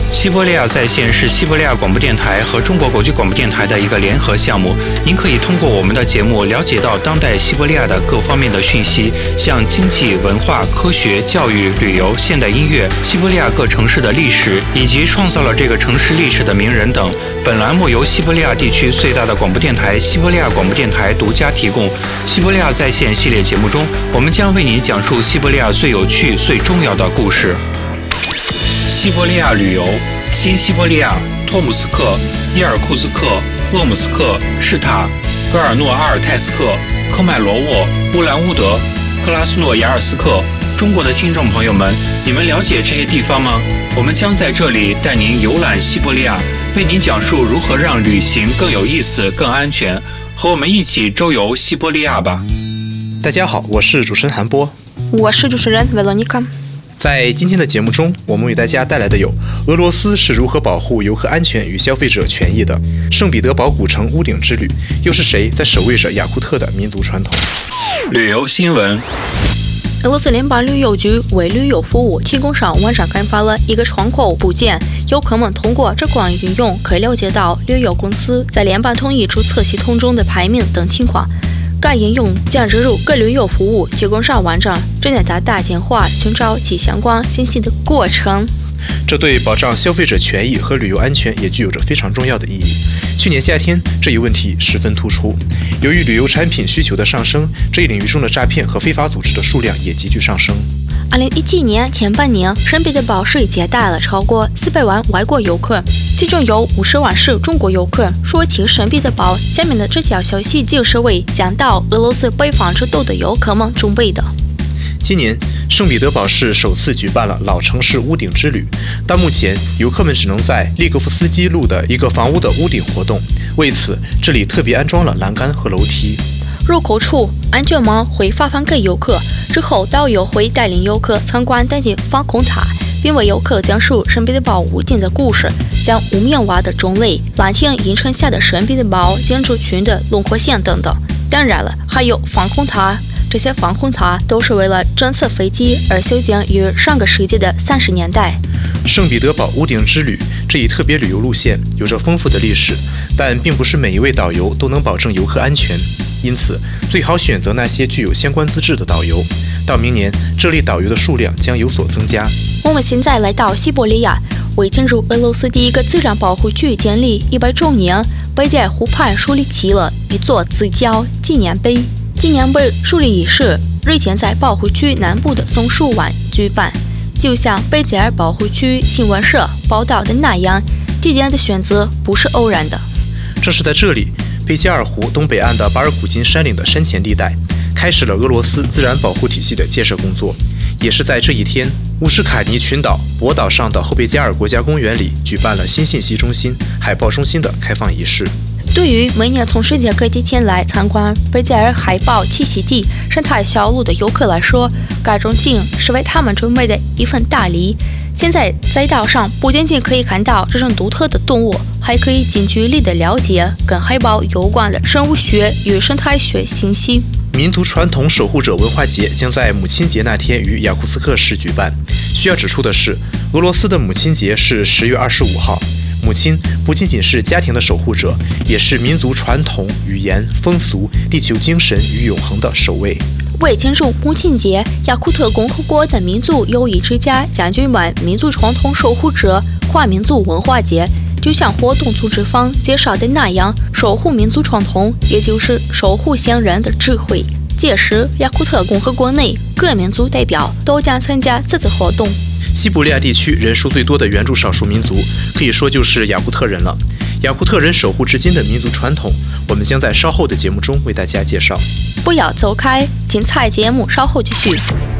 西伯利亚在线是西伯利亚广播电台和中国国际广播电台的一个联合项目。您可以通过我们的节目了解到当代西伯利亚的各方面的讯息，像经济、文化、科学、教育、旅游、现代音乐、西伯利亚各城市的历史，以及创造了这个城市历史的名人等。本栏目由西伯利亚地区最大的广播电台西伯利亚广播电台独家提供。西伯利亚在线系列节目中，我们将为您讲述西伯利亚最有趣、最重要的故事。西伯利亚旅游：新西伯利亚、托姆斯克、伊尔库茨克、鄂姆斯克、什塔、戈尔诺阿尔泰斯克、科迈罗沃、乌兰乌德、克拉斯诺亚尔斯克。中国的听众朋友们，你们了解这些地方吗？我们将在这里带您游览西伯利亚，为您讲述如何让旅行更有意思、更安全。和我们一起周游西伯利亚吧！ 大家好，我是主持人韩波， 我是主持人维罗妮卡。 在今天的节目中，我们为大家带来的有俄罗斯是如何保护游客安全与消费者权益的，圣彼得堡古城屋顶之旅，又是谁在守卫着雅库特的民族传统？ 旅游新闻。 俄罗斯联邦旅游局为旅游服务提供商网站开发了一个窗口部件，游客们通过这款应用可以了解到旅游公司在联邦统一注册系统中的排名等情况。该应用将植入各旅游服务提供商网站，旨在大简化寻找其相关信息的过程。 这对保障消费者权益和旅游安全也具有着非常重要的意义。去年夏天，这一问题十分突出。由于旅游产品需求的上升，这一领域中的诈骗和非法组织的数量也急剧上升。 2017年前半年，圣彼得堡市接待了超过400万外国游客，其中有50万是中国游客。说起圣彼得堡，下面的这条消息就是为向到俄罗斯北方之都的游客们准备的。 今年，圣彼得堡市首次举办了老城市屋顶之旅。到目前，游客们只能在利格夫斯基路的一个房屋的屋顶活动。为此，这里特别安装了栏杆和楼梯。 入口处，安全帽会发放给游客，之后导游会带领游客参观当地防空塔，并为游客讲述圣彼得堡屋顶的故事，像屋面瓦的种类、蓝天映衬下的圣彼得堡建筑群的轮廓线等等。当然了，还有防空塔。这些防空塔都是为了侦测飞机而修建于上个世纪的30年代。 圣彼得堡屋顶之旅这一特别旅游路线有着丰富的历史，但并不是每一位导游都能保证游客安全，因此最好选择那些具有相关资质的导游。到明年，这类导游的数量将有所增加。 我们现在来到西伯利亚，为庆祝俄罗斯第一个自然保护区建立100周年，北戴尔湖畔树立起了一座自交纪念碑。纪念碑树立仪式日前在保护区南部的松树湾举办，就像北戴尔保护区新闻社报道的那样，地点的选择不是偶然的。 正是在这里，贝加尔湖东北岸的巴尔古金山岭的山前地带，开始了俄罗斯自然保护体系的建设工作。也是在这一天，乌什卡尼群岛博岛上的后贝加尔国家公园里举办了新信息中心、海豹中心的开放仪式。 对于每年从世界各地前来参观贝加尔海豹栖息地生态小路的游客来说，该中心是为他们准备的一份大礼。现在在岛上不仅仅可以看到这种独特的动物，还可以近距离地了解跟海豹有关的生物学与生态学信息。 民族传统守护者文化节将在母亲节那天于雅库茨克市举办。需要指出的是，俄罗斯的母亲节是10月25号。母亲不仅仅是家庭的守护者，也是民族传统、语言、风俗、地球精神与永恒的守卫。 为庆祝母亲节，雅库特共和国的民族友谊之家将举办民族传统守护者跨民族文化节。就像活动组织方介绍的那样，守护民族传统，也就是守护先人的智慧。届时，雅库特共和国内各民族代表都将参加这次活动。 西伯利亚地区人数最多的原住少数民族，可以说就是雅库特人了。雅库特人守护至今的民族传统，我们将在稍后的节目中为大家介绍。 不要走开，精彩节目稍后继续。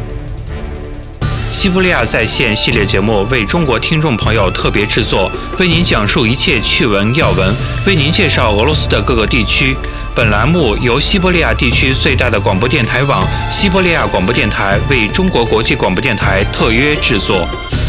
西伯利亚在线系列节目为中国听众朋友特别制作，为您讲述一切趣闻要闻，为您介绍俄罗斯的各个地区。本栏目由西伯利亚地区最大的广播电台网西伯利亚广播电台为中国国际广播电台特约制作。